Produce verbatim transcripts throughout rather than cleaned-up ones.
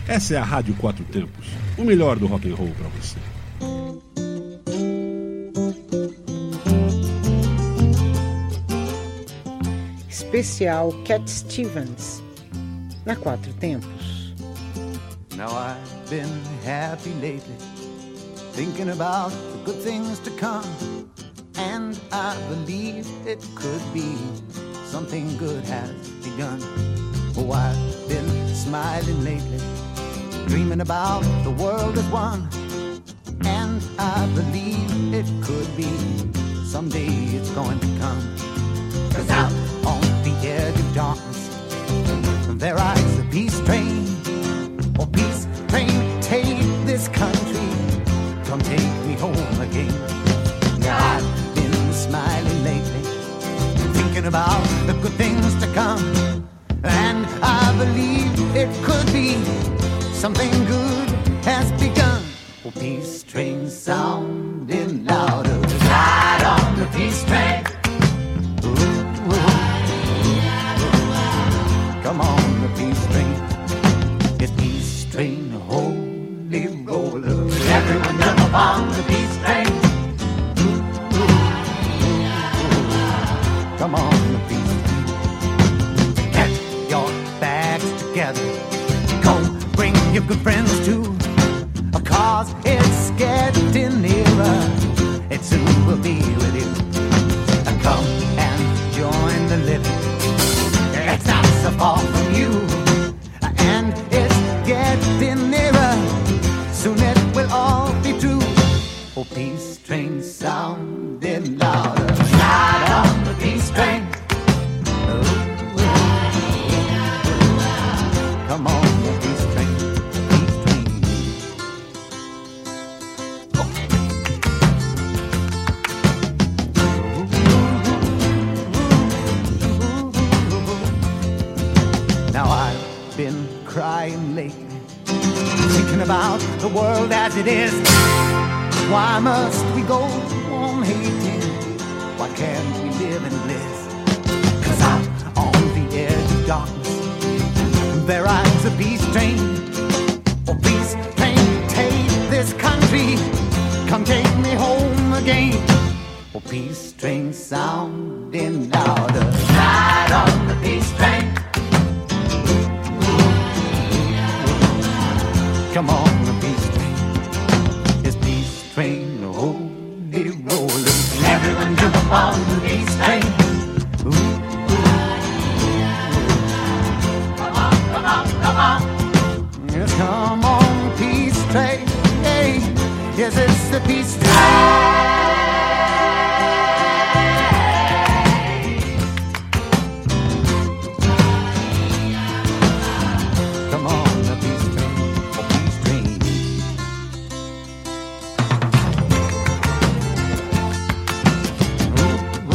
Essa é a Rádio Quatro Tempos, o melhor do rock and roll para você. Especial Cat Stevens, na Quatro Tempos. Now I've been happy lately, thinking about the good things to come, and I believe it could be something good has begun. Oh, I've been smiling lately, dreaming about the world as one, and I believe it could be someday it's going to come. 'Cause out on the edge of darkness there rides the peace train. Oh, peace train, take this country, come take me home again. Now I've been smiling lately, thinking about the good things to come, and I believe it could be something good has begun. Oh, peace train sounding louder, ride on the peace train. Ooh, ooh, ooh. Come on, the peace train. It's peace train, holy roller. Everyone jump upon the peace train. Ooh, ooh, ooh. Come on, the peace train. Get your bags together. Go bring your good friends too, 'cause it's getting nearer. It soon will be with you. Come and join the living. It's not so far from you, and it's getting nearer. Soon it will all be true. Oh, peace train sounding louder. Ride on the peace train. Oh, come on, the peace train, peace train. Oh. Now I've been crying lately, thinking about the world as it is. Why must we go on hating? Why can't we live in bliss? 'Cause out on the edge of darkness there rides a peace train. Oh, peace train, take this country, come take me home again. Oh, peace train sounding louder, ride on the peace train. Come on, the peace train. It's peace train, holy roller. Everyone jump upon the peace train. Ooh, ooh. Come on, come on, come on. Yes, come on, peace train. Hey, yes, it's the peace train. Come on, the peace train, oh, peace train. Ooh, ooh,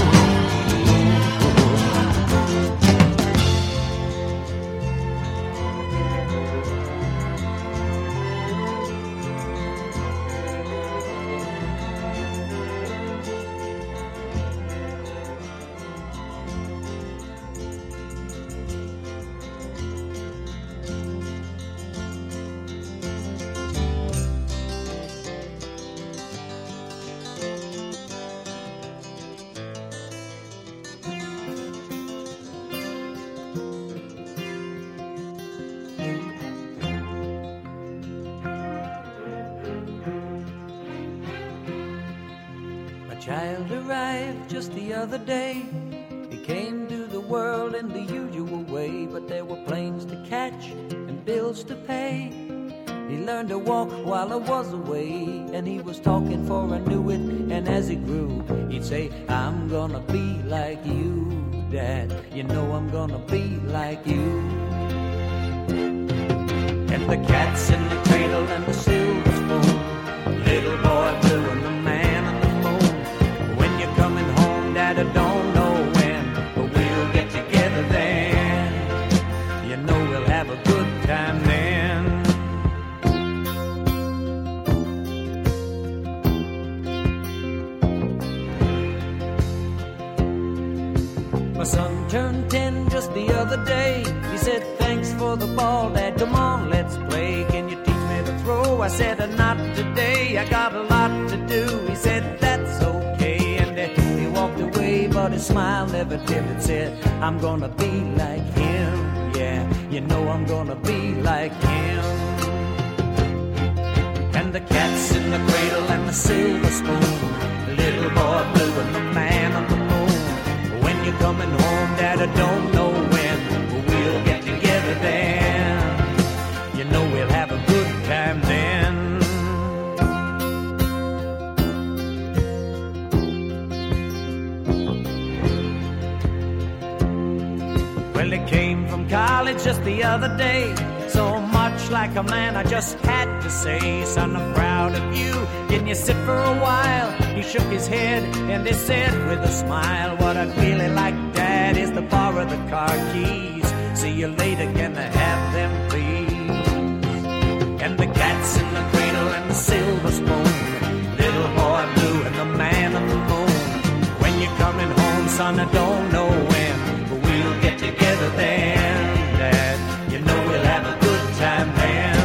Child arrived just the other day. He came to the world in the usual way, but there were planes to catch and bills to pay. He learned to walk while I was away, and he was talking for I knew it. And as he grew, he'd say, I'm gonna be like you, Dad. You know I'm gonna be like you. And the cat's in the cradle and the silver spoon, little boy blue and the man on the moon. When you're coming home, Dad, I don't know when, but we'll get together then. You know we'll have a good time then. My son turned ten just the other day. He said, thanks for the ball, Dad, come on, let's play. I said, not today, I got a lot to do. He said, that's okay, and he walked away, but his smile never dimmed. Said, I'm gonna be like him, yeah, you know I'm gonna be like him. And the cat's in the cradle and the silver spoon, the little boy blue and the man on the moon. When you're coming home, Dad, I don't know when, but we'll get together then. You know we'll have a good time then. Well, he came from college just the other day, so much like a man I just had to say, son, I'm proud of you, can you sit for a while? He shook his head and he said with a smile, what I'd really like, Dad, is to borrow the car keys. See you later, can I have them please? And the cat's in the cradle and the silver spoon, little boy blue and the man on the moon. When you're coming home, son, I don't know when, but we'll get together then, Dad, you know we'll have a good time then.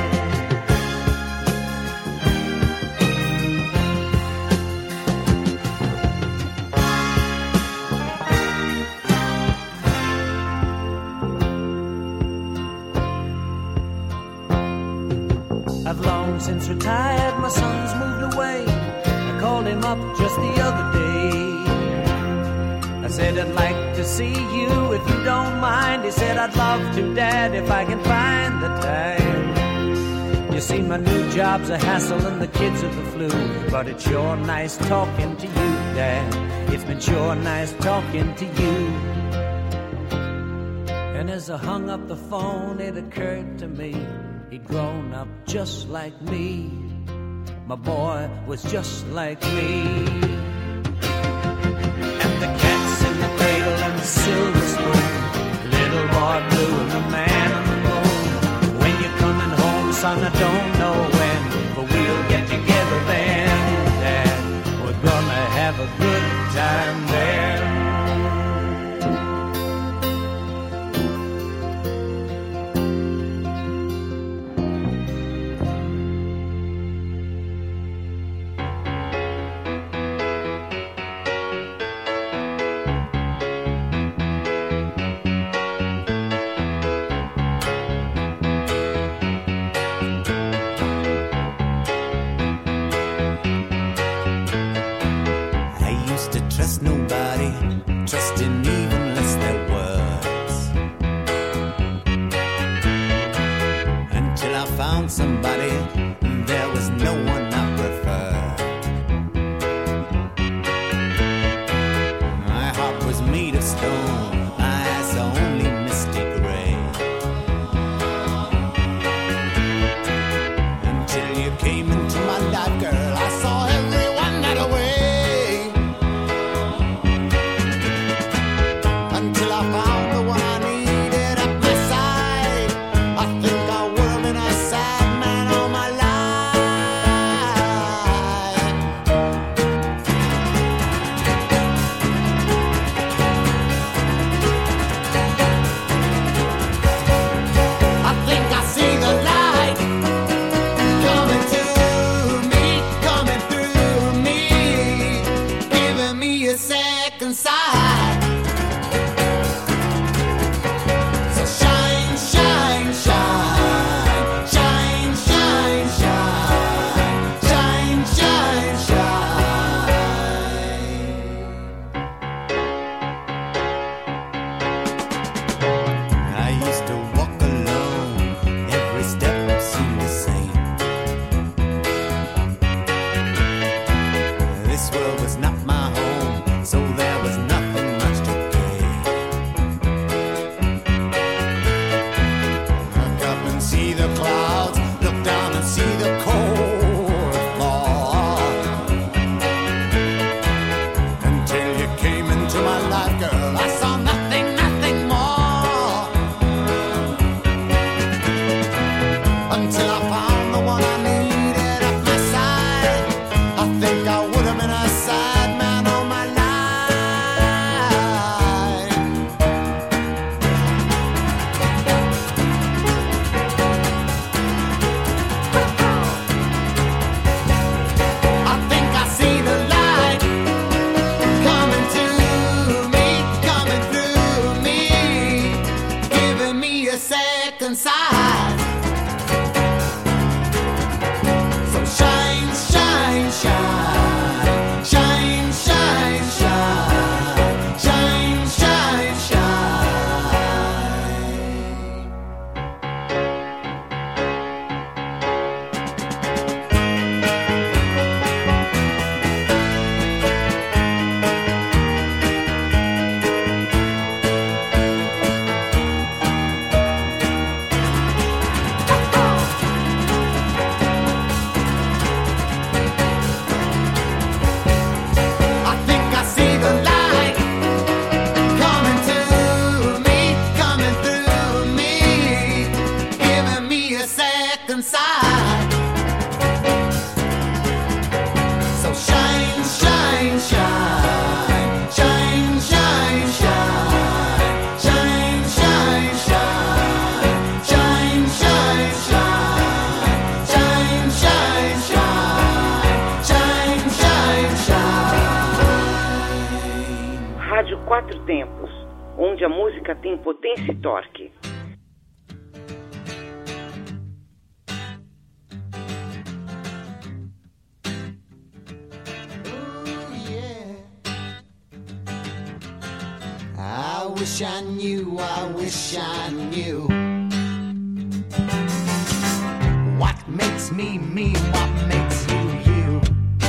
I've long since retired, my son's moved away. I called him up just the other day. I said, I'd like to see you if you don't mind. He said, I'd love to, Dad, if I can find the time. You see, my new job's a hassle and the kids are the flu, but it's sure nice talking to you, Dad. It's been sure nice talking to you. And as I hung up the phone, it occurred to me, he'd grown up just like me. My boy was just like me. And the cat's in the cradle and the silver spoon, little boy blue and the man on the moon. When you're coming home, son, I don't know when, but we'll get together then, Dad. We're gonna have a good time there. Nobody, trusting even less their words, until I found somebody, there was no one I preferred. My heart was made of stone, my eyes are only misty gray, until you came into my life, girl, I saw everyone that away. a second sight. So shine, shine, shine, shine, shine, shine, shine, shine, shine. Quatro Tempos, onde a música tem potência e torque. I wish I knew, I wish I knew what makes me me, what makes you you.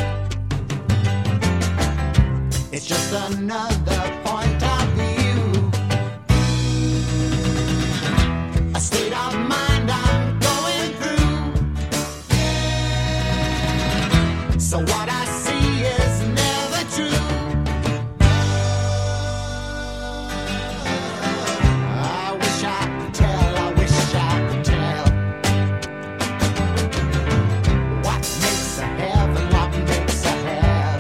It's just another point of view, a state of mind I'm going through. So what I see is never true. I wish I could tell, I wish I could tell what makes a heaven, what makes a hell.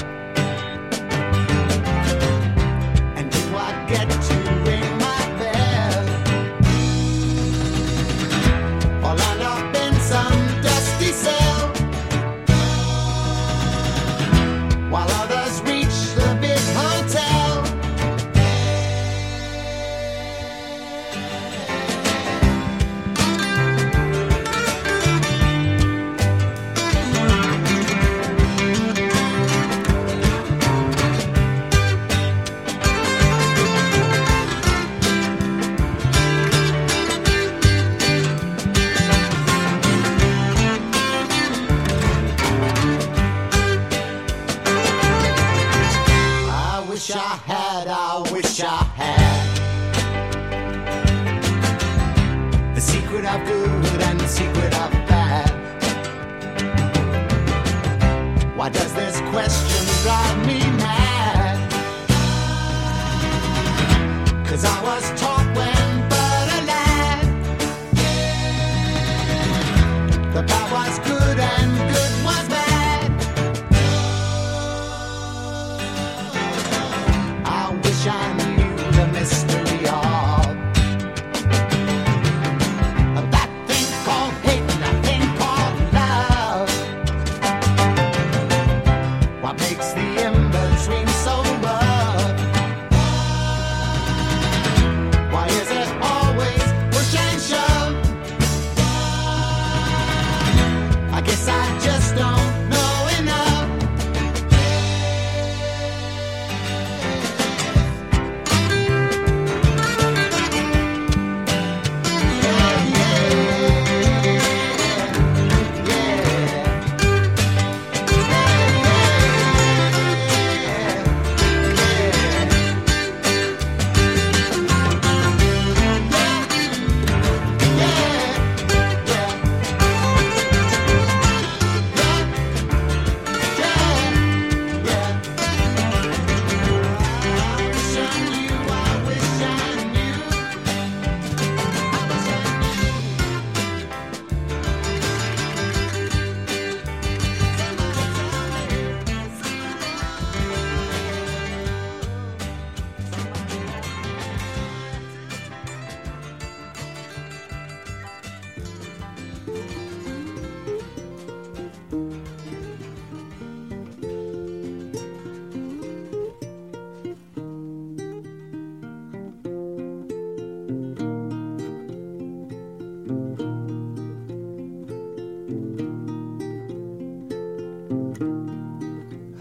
And do I get to ring my bell, or land up in some dusty cell, while others reach the big hotel? I wish I had, I wish I had the secret of good and the secret of bad. Why does this question drive me mad? 'Cause I was taught when but a lad, the bad was good and good was bad. I wish I knew the mystery of of that thing called hate and that thing called love. What makes the in-between so rough? Why is it always push and shove? I guess I just don't know enough.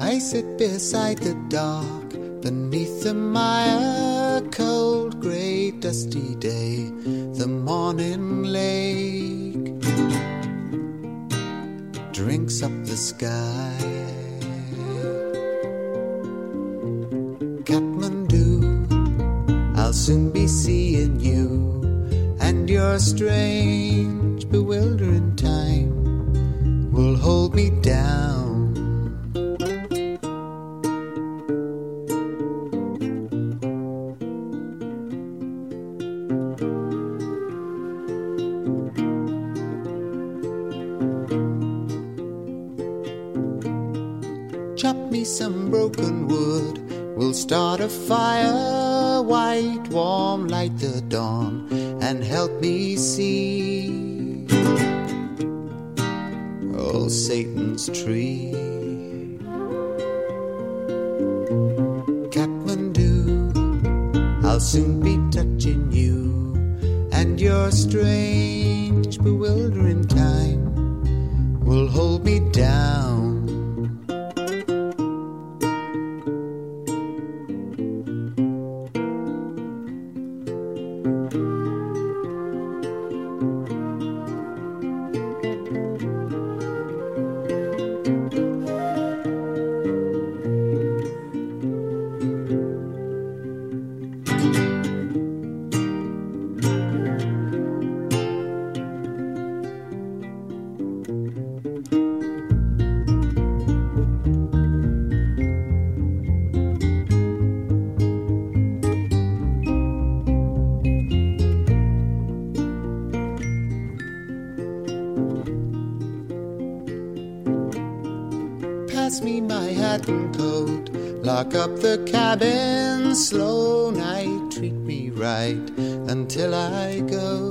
I sit beside the dock, beneath the mire, cold, grey, dusty day, the morning lake drinks up the sky. Kathmandu, I'll soon be seeing you, and your strange, bewildering time will hold me down. Chop me some broken wood, we'll start a fire, white, warm, light the dawn, and help me see oh, Satan's tree. Kathmandu, I'll soon be touching you, and your strange, bewildering time will hold me down. Pass me my hat and coat, lock up the cabin, slow night, treat me right until I go.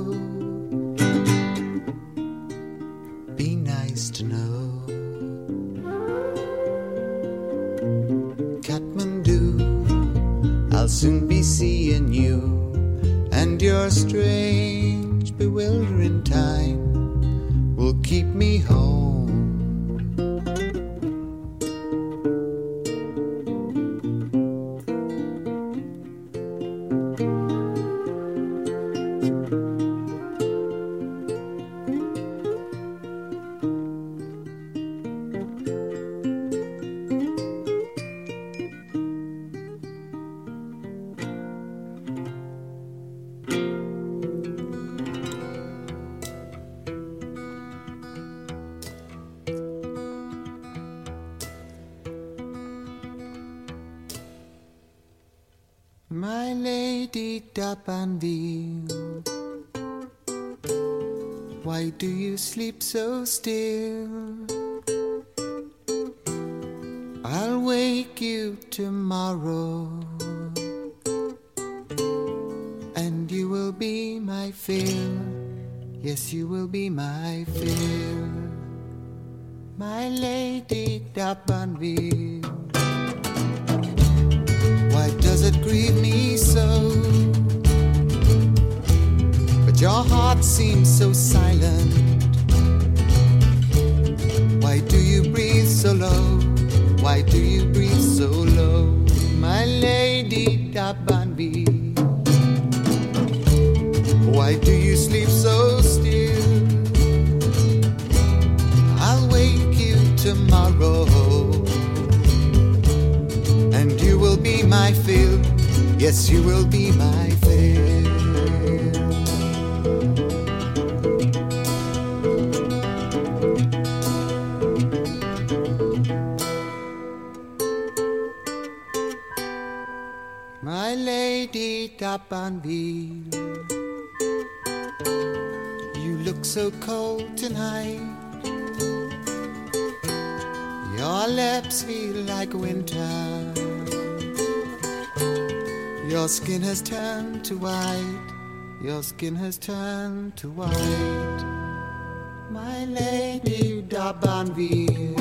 Be nice to know. Kathmandu, I'll soon be seeing you, and your strange, bewildering time will keep me home. My lady D'Abanville, why do you sleep so still? I'll wake you tomorrow, and you will be my fill. Yes, you will be my fill. My lady D'Abanville, why does it grieve me so? But your heart seems so silent. Why do you breathe so low? Why do you breathe so low? My lady D'Abanville, why do you sleep so still? I'll wake you tomorrow, and you will be my fill. Yes, you will be my fill. My lady D'Abanville, you look so cold tonight. Your lips feel like winter. Your skin has turned to white. Your skin has turned to white. My lady D'Abanville,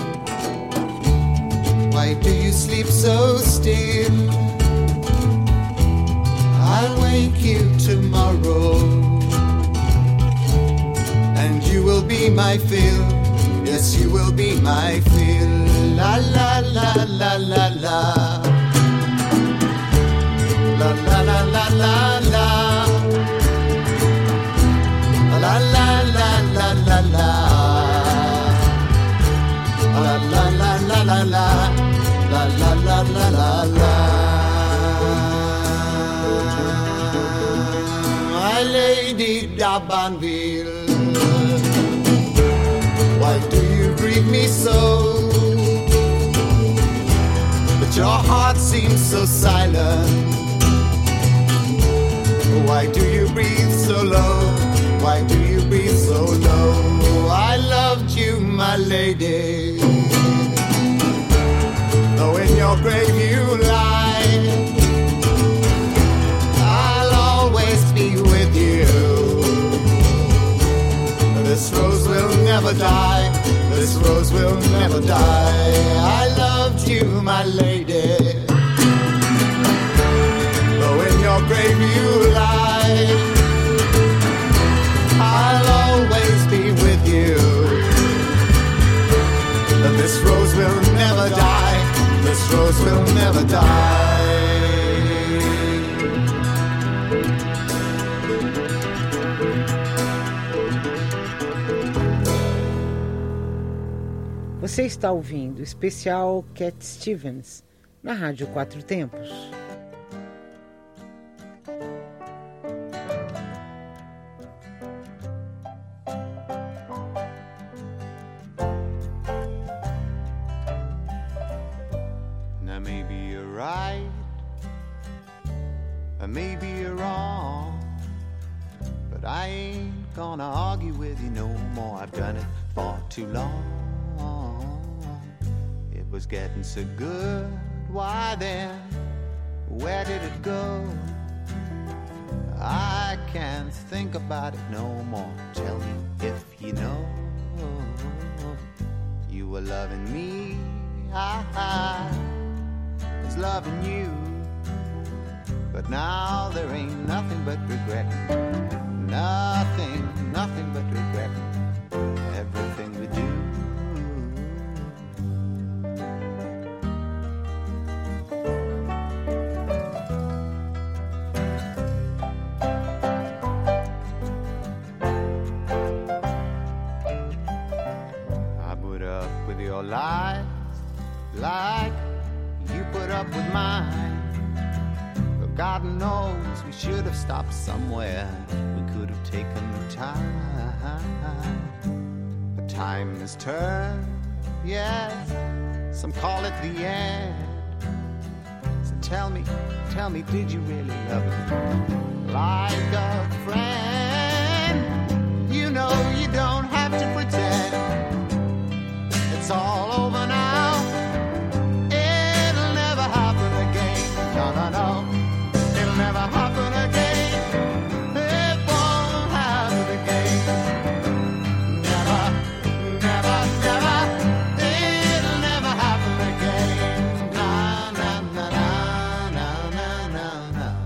why do you sleep so still? I'll wake you tomorrow, and you will be my fill. Yes, you will be my fill. La la la la la la. La la la la la la. La la la la la la. La la la la la la. La la la la la la. My Lady d'Abanville, why do you grieve me so? But your heart seems so silent. Why do you breathe so low? Why do you breathe so low? I loved you, my lady, though in your grave you lie, I'll always be with you. This rose will never die. This rose will never die. I loved you, my lady, though in your grave you lie, I'll always be with you. This rose will never die. This rose will never die. Você está ouvindo o especial Cat Stevens na Rádio Quatro Tempos. Now maybe you're right, or maybe you're wrong, but I ain't gonna argue with you no more. I've done it for too long. It was getting so good, why then, where did it go? I can't think about it no more. Tell me if you know. You were loving me, I, I was loving you, but now there ain't nothing but regret. Nothing, nothing but regret. Everything we do. I put up with your lies like you put up with mine. But God knows we should have stopped somewhere. We could have taken time. But time has turned, yes, some call it the end. So tell me, tell me, did you really love me like a friend? You know you don't have to pretend. It's all over now. It'll never happen again. No, no, no. It'll never happen again. It won't happen again. Never, never, never. It'll never happen again. Na, na, na, na, na, na, na, na.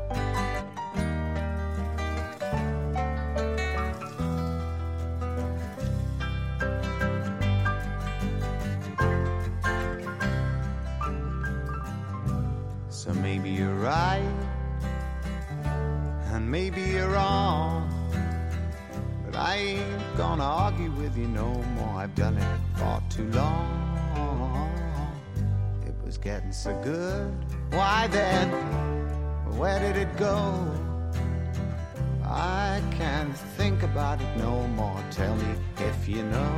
So maybe you're right, and maybe you're wrong, but I ain't gonna argue with you no more. I've done it for too long. It was getting so good, why then, where did it go? I can't think about it no more. Tell me if you know.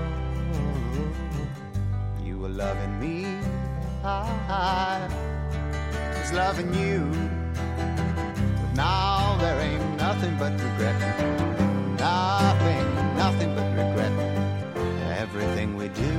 You were loving me, I was loving you, but now there ain't nothing but regret. Nothing, nothing but regret. Everything we do.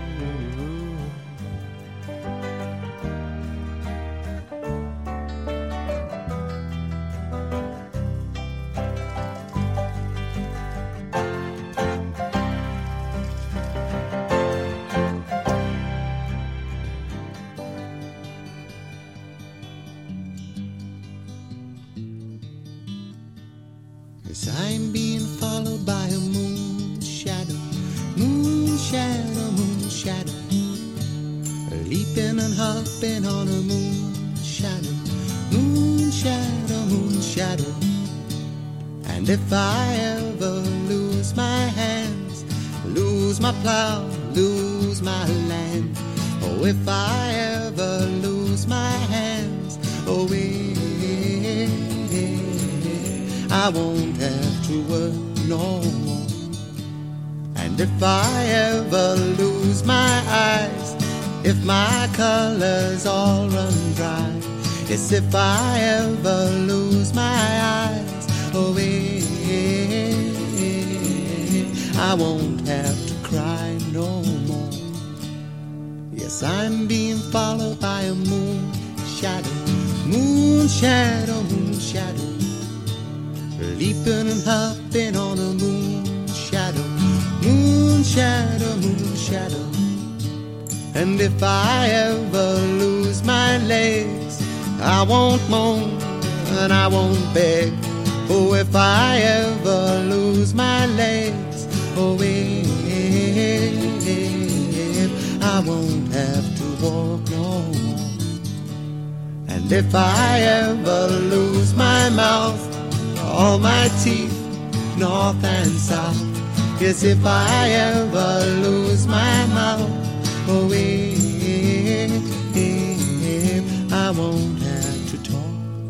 As I'm being followed by a moon shadow, moon shadow, moon shadow. hopping on a moon shadow, moon shadow, moon shadow. And if I ever lose my hands, lose my plow, lose my land, oh, if I ever lose my hands, oh, eh, I won't have to work no more. And if I ever lose my eyes, if my colors all run dry, yes, if I ever lose my eyes, oh, eh, I won't have to cry no more. Yes, I'm being followed by a moon shadow, moon shadow, moon shadow, leaping and hopping on a moon shadow, moon shadow, moon shadow. And if I ever lose my legs, I won't moan and I won't beg. Oh, if I ever lose my legs, oh, if I won't have to walk no more. And if I ever lose my mouth, all my teeth, north and south, yes, if I ever lose my mouth, oh, if I won't have to talk.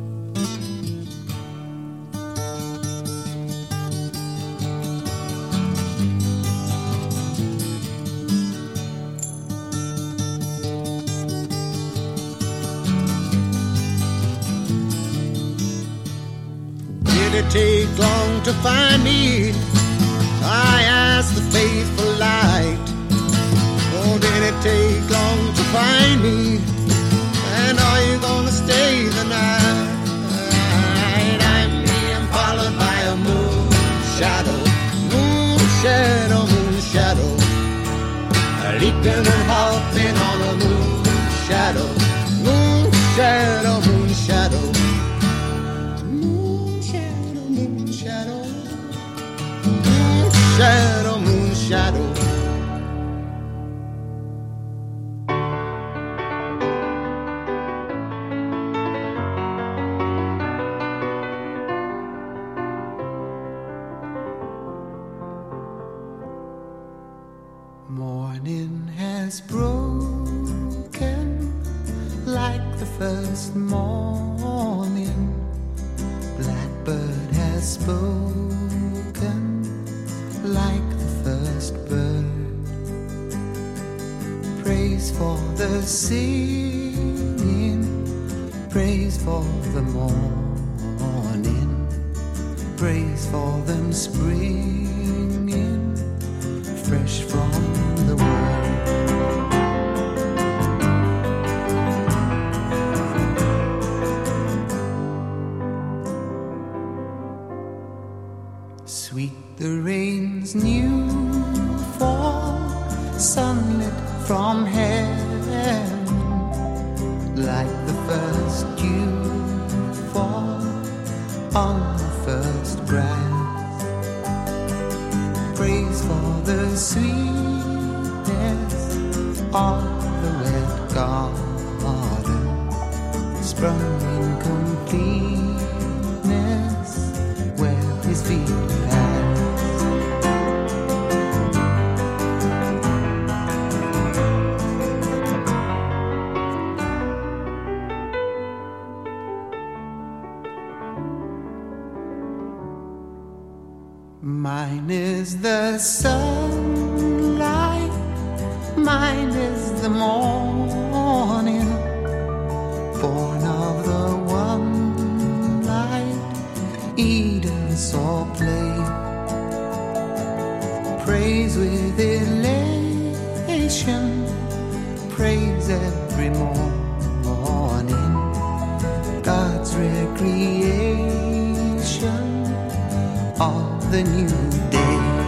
Did it take long to find me? I asked the faithful light. Oh, did it take long to find me? And are you gonna stay the night? I'm being followed by a moon shadow, moon shadow, moon shadow, leaping and hopping on a moon shadow, moon shadow, moon shadow, moon shadow, moon shadow, moon shadow, moon shadow. Morning has broken like the first morning. Blackbird has spoken like the first bird. Praise for the singing, praise for the morning, praise for them springing fresh from the world. Sweet the rain's new fall, sunlit from heaven, like the first dew fall on the first grass. Praise for the sweetness of the wet garden, sprung in completeness where his feet pass. Mine is the sunlight, mine is the morning, born of the one light Eden saw play. Praise with elation, praise every morning, God's recreation of the new day.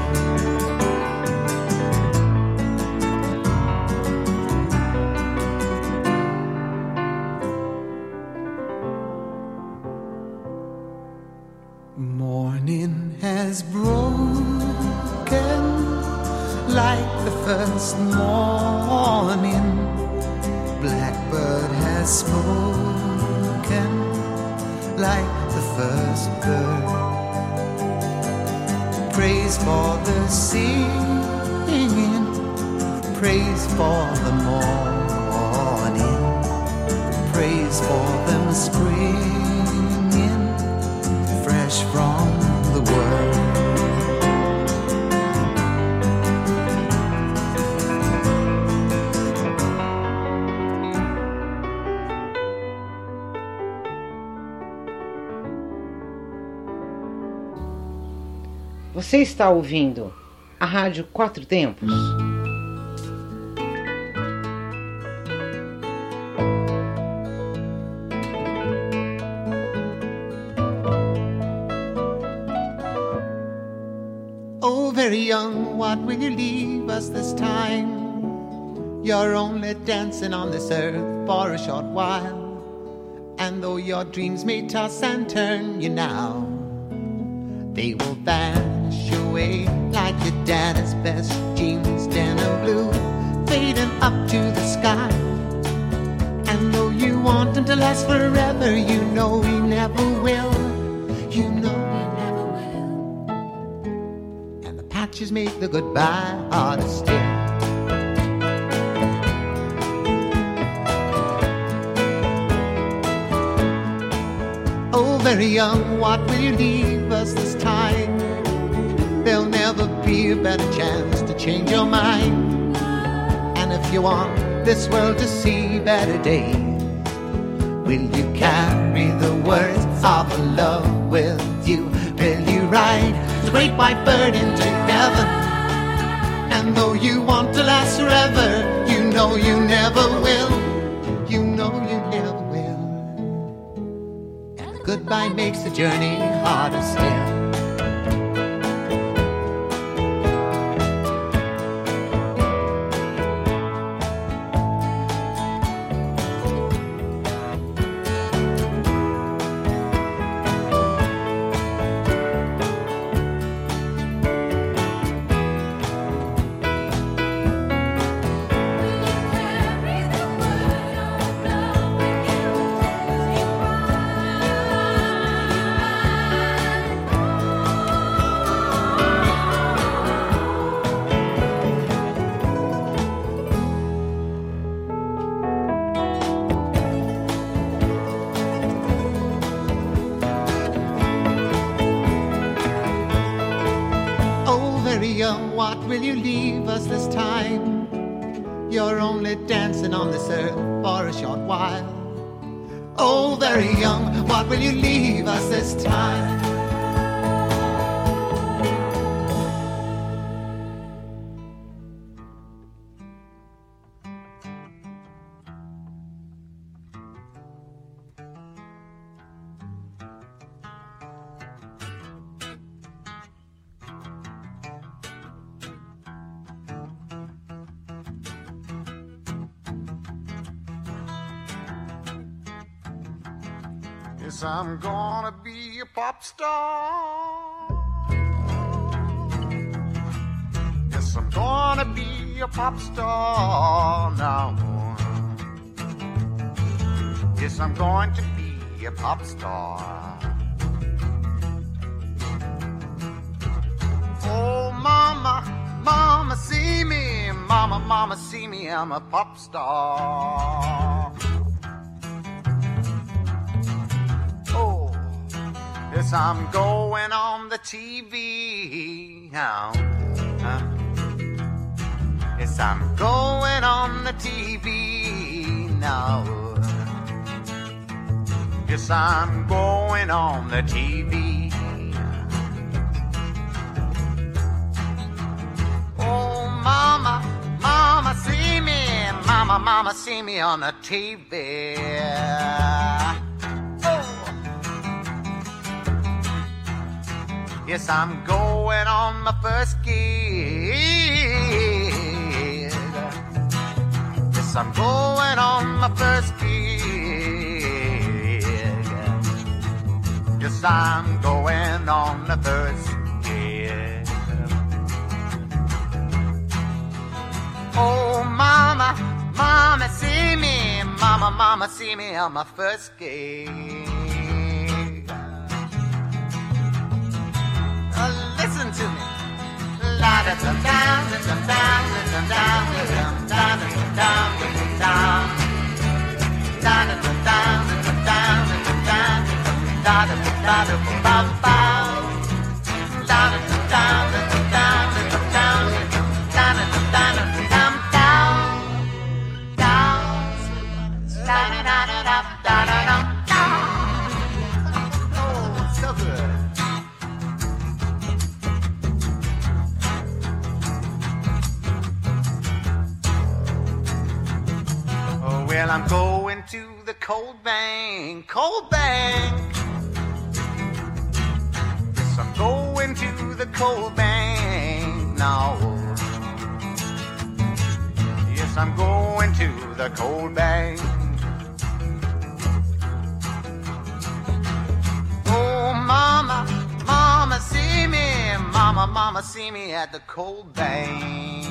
Morning has broken like the first morning. Black bird has spoken, like the first bird. Praise for the singing, praise for the morning, praise for them springing fresh from the world. Você está ouvindo a Rádio Quatro Tempos. Oh, very young, what will you leave us this time? You're only dancing on this earth for a short while, and though your dreams may toss and turn you now, they will vanish away like your daddy's best jeans, denim blue, fading up to the sky. And though you want him to last forever, you know he never will. You know he never will. And the patches make the goodbye harder still. Oh, very young, what will you leave us this time? There'll never be a better chance to change your mind. And if you want this world to see better days, will you carry the words of love with you? Will you ride the great white bird into heaven? And though you want to last forever, you know you never will. You know you never will. Goodbye makes the journey harder still. What will you leave us this time? You're only dancing on this earth for a short while. Oh, very young, what will you leave us this time? Yes, I'm gonna be a pop star. Yes, I'm gonna be a pop star now. Yes, I'm going to be a pop star. Oh, mama, mama, see me. Mama, mama, see me. I'm a pop star. Yes, I'm going on the T V now. Uh, yes, I'm going on the T V now. Yes, I'm going on the T V. Oh, mama, mama, see me. Mama, mama, see me on the T V. Yes, I'm going on my first gig. Yes, I'm going on my first gig. Yes, I'm going on the first gig. Oh, mama, mama, see me. Mama, mama, mama, see me on my first gig. Uh, listen to me. La da da da da da da da da da da da da. Da da da da da da da da da da da ba ba. Da da da da da da da da da da da da down down. Da da da da da da da da. Oh, so good. Well, I'm going to the cold bank, cold bank. Yes, I'm going to the cold bank now. Yes, I'm going to the cold bank. Oh, mama, mama, see me. Mama, mama, see me at the cold bank.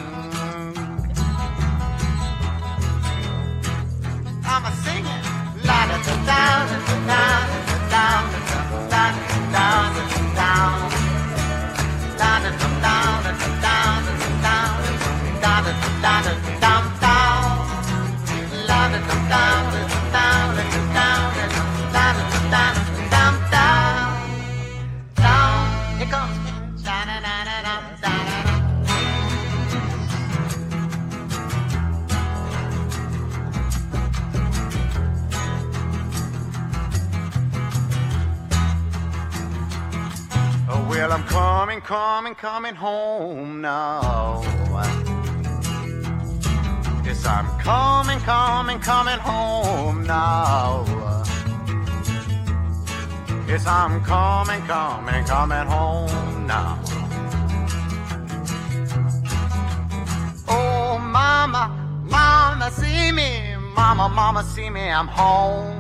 I'm a singing. La da da da da da da da da da da. La da da da da da da da da da da da. La da da da da da da da da da da. Down, here comes. Da da da da da da. Well, I'm coming, coming, coming home now. Yes, I'm coming, coming, coming home now. Yes, I'm coming, coming, coming home now. Oh, mama, mama, see me. Mama, mama, see me, I'm home.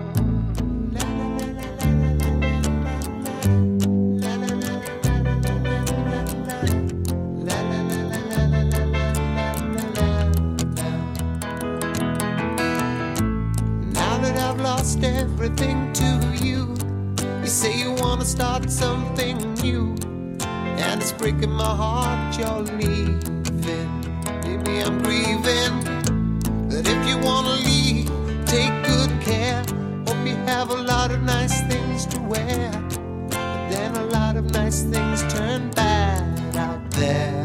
Lost everything to you. You say you wanna start something new, and it's breaking my heart you're leaving. Baby, I'm grieving. But if you wanna leave, take good care. Hope you have a lot of nice things to wear, but then a lot of nice things turn bad out there.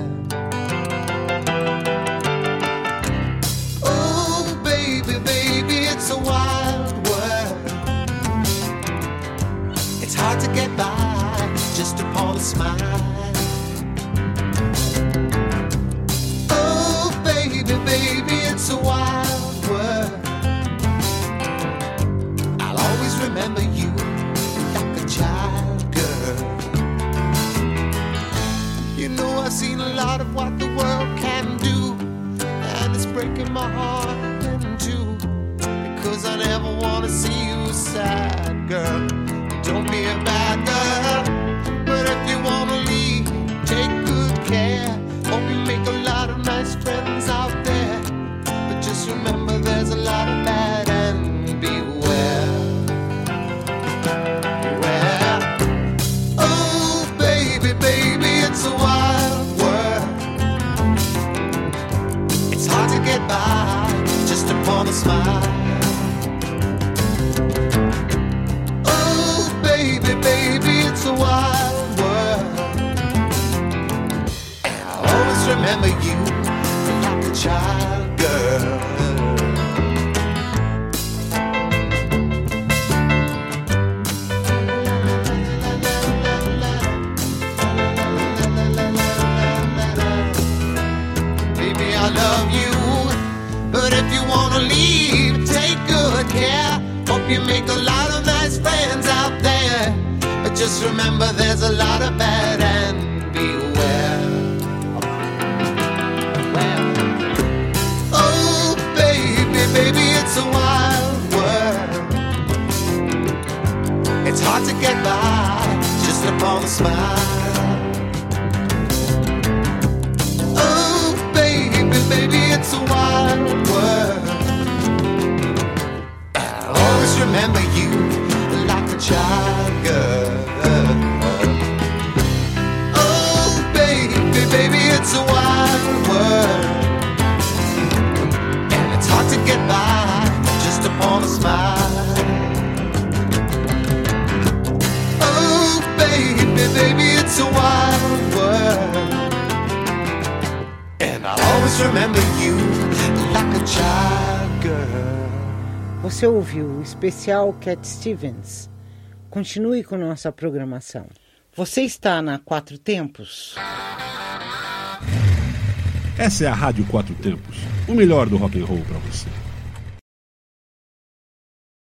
Oh, baby, baby, it's a wild hard to get by just upon a smile. Oh, baby, baby, it's a wild world. I'll always remember you like a child, girl. You know I've seen a lot of what the world can do, and it's breaking my heart in two, because I never want to see you sad, girl. Don't be a bad girl, but if you wanna leave, take good care. Hope you make a lot of nice friends out there, but just remember there's a lot of bad and beware. Beware. Oh, baby, baby, it's a wild world. It's hard to get by just upon a smile. Baby, baby, it's a wild world, and I'll always remember you like a child, girl. Baby, I love you, but if you wanna leave, take good care. Hope you make a lot of nice friends out there, but just remember there's a lot of bad and beware. Well, oh, baby, baby, it's a wild world. It's hard to get by just upon a smile. Oh, baby, baby, it's a wild world. just remember you like a child girl. Você ouviu o especial Cat Stevens. Continue com nossa programação. Você está na Quatro Tempos? Essa é a Rádio Quatro Tempos, o melhor do rock and roll para você.